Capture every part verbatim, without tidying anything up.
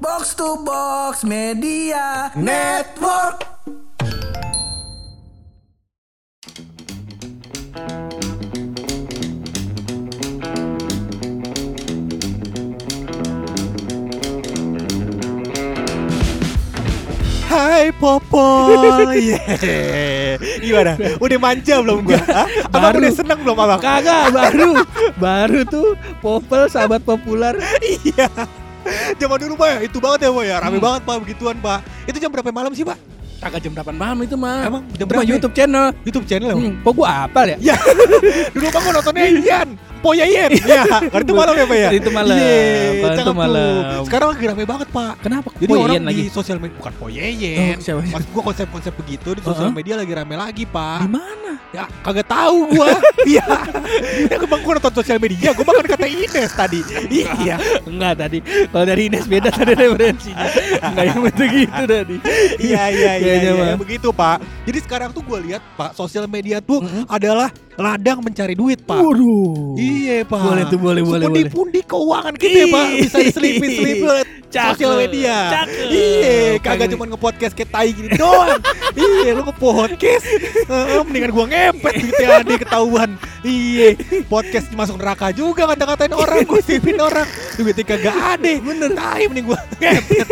Box to Box Media Network. Hai Popol. Yeah. Gimana? Udah manja belum gua? Hah? Abang udah seneng belum abang? Kagak, baru Baru tuh Popol sahabat populer. Iya. Zaman dulu Pak ya, itu banget ya Pak ya. Rame Hmm. banget Pak begituan Pak. Itu jam berapa malam sih Pak? Kagak jam delapan malam itu mah. Emang jam Itu berapa mah ya? YouTube channel. YouTube channel ya? Hmm, kok gua apal ya? Ya. Dulu Bang gua nontonnya Ian Poyayen. Ya, kan itu malam ya Pak ya? Itu malam. Iya, Kan itu cakep tuh. malam. Sekarang lagi rame banget Pak. Kenapa? Jadi Poyayen orang lagi di sosial media bukan Poyayen. Oh, siapa? Maksud gua konsep-konsep begitu di sosial Uh-huh. media lagi rame lagi Pak. Di mana? Ya kagak tahu gua. Iya. Ya kebang gua nonton sosial media, gua makan kata Ines tadi. Iya. Enggak tadi. Kalau dari Ines beda tadi referensinya. Enggak yang begitu tadi. Iya iya iya, Kayaknya iya, mah. begitu Pak. Jadi sekarang tuh gua lihat Pak, sosial media tuh Mm-mm. adalah ladang mencari duit Pak. Waduh. Iya Pak. Boleh tuh, boleh, boleh, boleh. Pundi-pundi keuangan kita ya Pak, bisa diselipin-selipin oleh Cakep, sosial media. cakep. Iya, kagak Pengen- cuma nge-podcast kayak tai gini doang. Iya, lu nge-podcast. Heeh, mendingan gua ngepet gitu ya, adik ketahuan. Iya, podcast masuk neraka juga kata-katain orang, gosipin orang. Duitnya kagak ada. Bener, tai mending gua ngepet.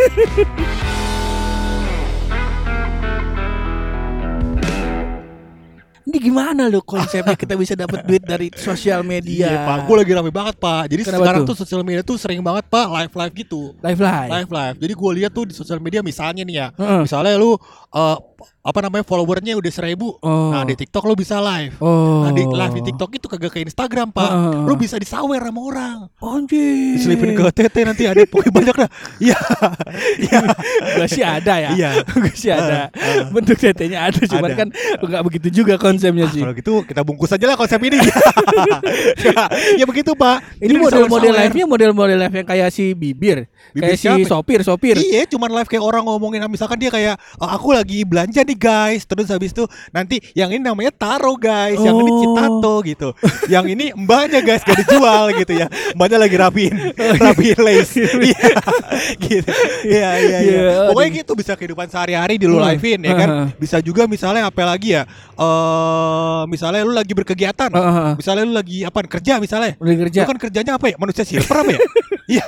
Ini gimana lo konsepnya kita bisa dapat duit dari sosial media? Iya Pak, gue lagi rame banget Pak. Jadi Kenapa sekarang tuh? tuh sosial media tuh sering banget Pak live-live gitu. Live live. Live live. Jadi gue lihat tuh di sosial media misalnya nih ya, Heeh. misalnya lu uh, apa namanya followernya udah seribu, Oh. nah di TikTok lu bisa live. Oh. Nah di live di TikTok itu kagak ke Instagram Pak, Heeh. lu bisa disawer sama orang. Anjir. Diselipin ke T T nanti ada pokoknya banyak dah. Iya, iya, Gua sih ada ya. iya. Gua sih ada. Heeh. Bentuk T T-nya ada, cuman Ada. kan enggak begitu juga konsepnya sih. Kalau gitu kita bungkus aja lah konsep ini. ya, ya begitu Pak. Ini Jadi model-model disawer-sawer. live-nya model-model live yang kayak si Bibir, Bibir kayak siapa? si sopir-sopir. Iya, cuman live kayak orang ngomongin, misalkan dia kayak "Oh, aku lagi belanja nih guys," terus habis itu nanti yang ini namanya Taro guys, yang ini Oh. Citato gitu, yang ini mbaknya guys gak dijual gitu ya, mbaknya lagi rapiin, rapiin lace, Iya, gitu, iya iya iya. Iya, Pokoknya aduh. gitu bisa kehidupan sehari-hari di lu Hmm. live-in ya kan, Heeh. bisa juga misalnya apa lagi ya, eh misalnya lu lagi berkegiatan, Heeh. misalnya lu lagi apa kerja misalnya, Udah kerja. lu kan kerjanya apa ya, manusia silver apa ya? Iya,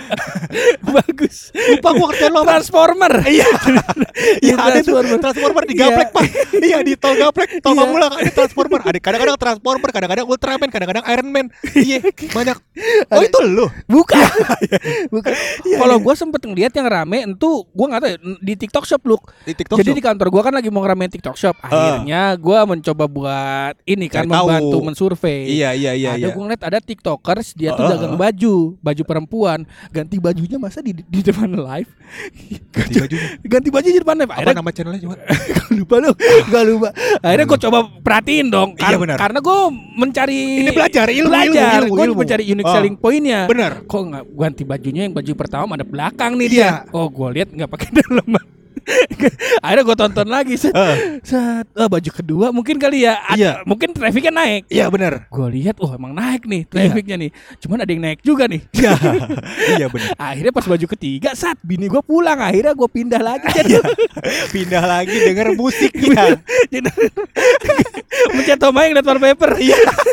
Bagus. lupa gua kerjaan lo apa. Transformer. Iya, iya ada tuh Transformer. transformer di gaplek Iya. Pak. Iya di tol gaplek, tol Iya. Pamulang ada transformer. Ada kadang-kadang transformer, kadang-kadang Ultraman, kadang-kadang Iron Man. Iya banyak. Oh itu lu? Bukan. Bukan. Iya, Kalau iya. gue sempet ngeliat yang rame, itu gue nggak tahu ya, di TikTok Shop look. Di TikTok. Jadi Shop? di kantor gue kan lagi mau ngeramein TikTok Shop. Akhirnya gue mencoba buat ini kan Cari tahu. membantu mensurvei. Iya iya iya. ada iya. gue ngeliat ada TikTokers dia tuh Uh, uh, dagang uh. baju, baju perempuan, ganti bajunya masa di di depan live. Ganti bajunya. Ganti baju di depan live. Apa Akhirnya nama channelnya coba? gak lupa lu, gak lupa. Akhirnya gue coba perhatiin dong, Iya, kar- benar. karena gue mencari Ini belajar, ilmu, belajar. ilmu, Gue ilmu. mencari unique Oh. selling pointnya. Benar. Kok nggak ganti bajunya yang baju pertama ada belakang nih Iya. dia. Oh gue lihat nggak pakai daleman. Akhirnya gue tonton lagi set, Uh. set. Oh, baju kedua mungkin kali ya. Ad- Iya. Mungkin trafficnya naik. Iya benar. Gue lihat, oh emang naik nih trafficnya nih. Cuman ada yang naik juga nih. Iya. Iya benar. Akhirnya pas baju ketiga, saat bini gue pulang, akhirnya gue pindah lagi. Iya. Pindah lagi denger musiknya. Jadi mencet tombol yang liat wallpaper. Iya.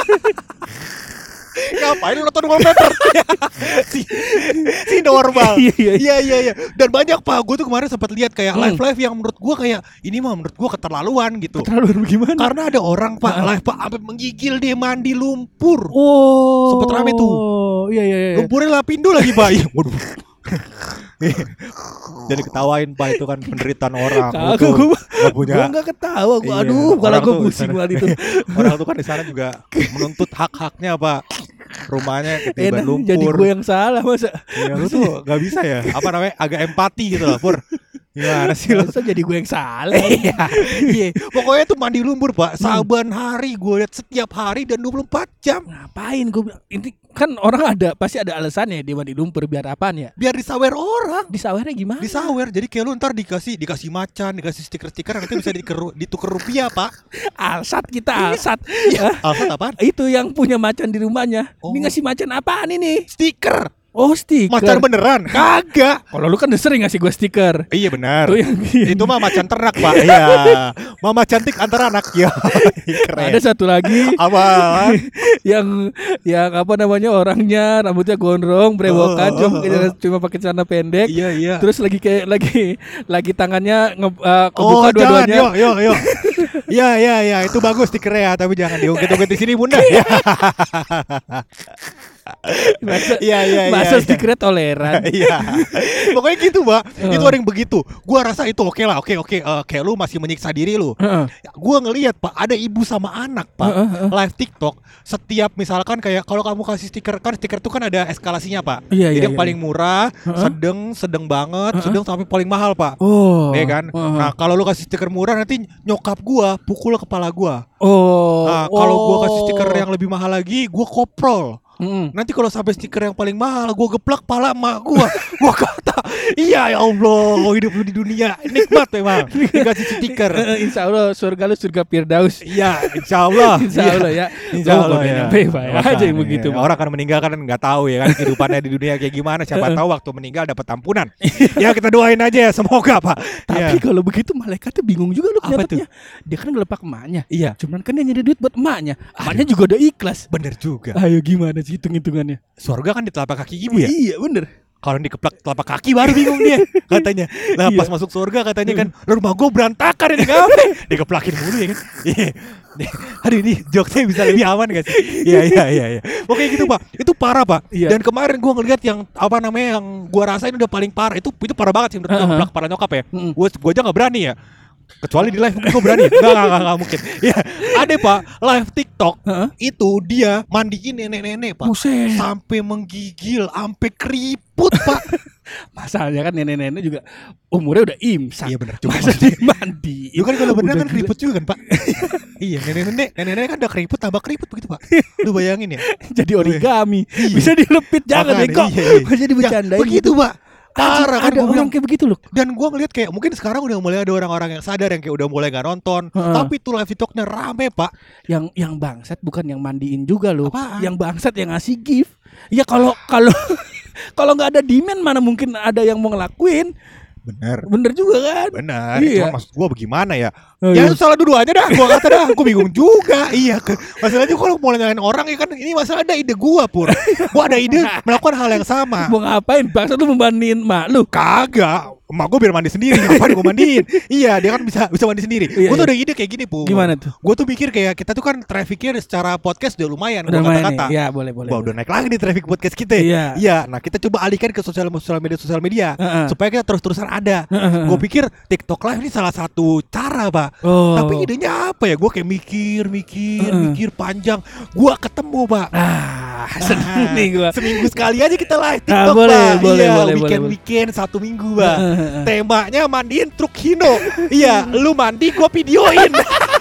Ngapain lu nonton wallpaper? si, si normal. Iya, iya. Iya iya iya. Dan banyak Pak, gue tuh kemarin sempat lihat kayak Hmm. live live yang menurut gue kayak ini mah menurut gue keterlaluan gitu. Terlalu gimana? Karena ada orang Pak live Pak sampai menggigil dia mandi lumpur. Oh, Sempet rame tuh. Iya iya iya. Lumpurnya lapindo lagi Pak. Iya, waduh. Jadi ketawain Pak, itu kan penderitaan orang. Lu Kagak tuh gue, nggak punya. gue nggak ketawa. Gue Iya, aduh, kalau orang gue tuh di pusing sana- banget itu. Orang tuh kan di sana juga menuntut hak-haknya Pak. Rumahnya ketiban Enak lumpur. jadi gue yang salah masa. Iya lu tuh gak bisa ya. Apa namanya, agak empati gitu loh Pur. Gimana sih lu? Masa jadi gue yang salah. Iya, iya. Pokoknya tuh mandi lumpur Pak, saban hari gue lihat, setiap hari dan dua puluh empat jam. Ngapain gue bilang, ini kan orang ada pasti ada alasannya dia mandi lumpur biar apaan ya? Biar disawer orang. Disawernya gimana? Disawer, jadi kayak lu ntar dikasih dikasih macan, dikasih stiker-stiker, nanti bisa dikeru, ditukar rupiah Pak. Alsat kita alsat. Iya, Hah? alsat apaan? Itu yang punya macan di rumahnya. Oh. Ini ngasih macan apaan ini? Stiker. Oh, stiker. Macan beneran? Kagak. Kalau lu kan udah sering ngasih gue stiker. Iya benar. Tuh yang- Itu mah macan ternak, Pak. Iya. Mama cantik antar anak. Ya. Keren. Ada satu lagi Apa? yang yang apa namanya orangnya rambutnya gondrong, brewokan, Oh, cuma oh, pakai oh. cuma pakai celana pendek. Iya, iya. Terus lagi kayak lagi lagi tangannya nge, uh, Oh, kebuka jangan. dua-duanya. Yo, yo, yo. Ya, ya, ya. Itu bagus stikernya, tapi jangan diungkit-ungkit di sini, Bunda. Ya. Masa, Iya, iya, iya. masa iya. stikernya toleran. Iya. Pokoknya gitu, Mbak. Oh. Itu ada yang begitu. Gua rasa itu oke lah. Oke, oke. Eh, kayak lu masih menyiksa diri lu. Heeh. Gua ngelihat, Pak, ada ibu sama anak, Pak, Heeh, heeh. live TikTok. Setiap misalkan kayak kalau kamu kasih stiker, kan stiker itu kan ada eskalasinya, Pak. Iya, Jadi iya, yang iya. paling murah, Heeh. sedang, sedang banget, Heeh. sedang sampai paling mahal, Pak. Oh. Iya kan? Heeh. Nah, kalau lu kasih stiker murah nanti nyokap gua pukul kepala gua. Oh. Nah, kalau gua kasih Oh. stiker yang lebih mahal lagi, gua koprol. Mm-mm. Nanti kalau sampai stiker yang paling mahal, gua geplak pala emak gua. Gua kata, iya ya Allah, hidup lu di dunia nikmat memang. Dikasih stiker. Eh, Insya Allah surga lu surga Firdaus. Iya, insya Allah. Insya Allah ya. Insya Oh, Allah kok ya. nyampe, Pak, ya. Aja yang begitu, Pak. Orang kan meninggal kan nggak tahu ya kan kehidupannya di dunia kayak gimana. Siapa tahu waktu meninggal dapat ampunan. Ya kita doain aja ya, semoga, Pak. Tapi Ya. kalau begitu malaikatnya bingung juga lu Apa kelihatannya. Dia kan ngelepak emaknya. Iya, Cuman kan dia nyari duit buat emaknya. Emaknya juga udah ikhlas. bener juga. Ayo gimana sih hitung-hitungannya? Surga kan di telapak kaki ibu ya. Iya bener. Kalau dikeplak telapak kaki baru bingung dia katanya. Nah pas masuk surga katanya kan, rumah gue berantakan ini ngapain? Dikeplakin mulu ya kan. Iya. Aduh ini jokesnya bisa lebih aman gak sih? Iya iya iya. iya. Oke gitu Pak. Itu parah Pak. Iya. Dan kemarin gue ngeliat yang apa namanya yang gue rasain udah paling parah. Itu itu parah banget sih menurut gue Uh-huh. ngeplak kepala nyokap ya. Mm-mm. Gue gue aja nggak berani ya. Kecuali di live mungkin gue berani. Enggak, enggak, enggak, enggak mungkin. Ya, ada Pak, live TikTok. Heeh. Itu dia mandiin nenek-nenek Pak. Buset. Sampai menggigil, sampai keriput Pak. Masalahnya kan nenek-nenek juga umurnya udah imsak. Iya benar. Cuma Masa dia mandi. Lu kan kalau berenang Udah kan gila. keriput juga kan Pak. Iya nenek-nenek Nenek-nenek kan udah keriput tambah keriput begitu Pak. Lu bayangin ya. Jadi origami. Iya. Bisa dilepit jangan Makanya, bego. iya, iya. Bisa dibecandain. Ya, begitu Pak. Parah kan ada gua bilang. orang kayak begitu loh. Dan gua ngeliat kayak mungkin sekarang udah mulai ada orang-orang yang sadar yang kayak udah mulai gak nonton. Heeh. Tapi tuh live TikToknya rame Pak. Yang yang bangsat bukan yang mandiin juga loh. Apaan? Yang bangsat yang ngasih gift. Ya kalau kalau kalau nggak ada demand mana mungkin ada yang mau ngelakuin. Bener. Bener juga kan? Benar. Iya. Cuma maksud gua bagaimana ya? Oh, Ya iya. itu salah dua-duanya dah. Gua kata dah. Gua bingung juga. Iya. ke- Masalahnya kalau mau nyalain orang ya kan ini masalah ada ide gua pur. Gua ada ide melakukan hal yang sama. Mau ngapain? Bangsat lu membandingin mak lu. Kagak. Emak gue biar mandi sendiri. Ngapain gue mandiin? Iya dia kan bisa bisa mandi sendiri. Iya, Gue tuh iya. ada ide kayak gini Pu. Gimana tuh? Gue tuh mikir kayak kita tuh kan trafficnya secara podcast udah lumayan. Udah Gua main kata-kata. nih. Ya boleh boleh. Wah udah naik lagi nih traffic podcast kita. Iya. Iya. Nah kita coba alihkan ke sosial sosial media sosial media Heeh. supaya kita terus-terusan ada. Heeh. Gue pikir TikTok Live ini salah satu cara Pak. Oh. Tapi idenya apa ya? Gue kayak mikir, mikir, Heeh. mikir panjang. Gue ketemu Pak. Ah, seneng nih gua. Seminggu sekali aja kita live Ah, TikTok boleh, Pak. boleh, Iya, boleh, weekend boleh. weekend satu minggu Pak. Heeh. Temanya mandiin truk Hino. Iya, lu mandi gua videoin.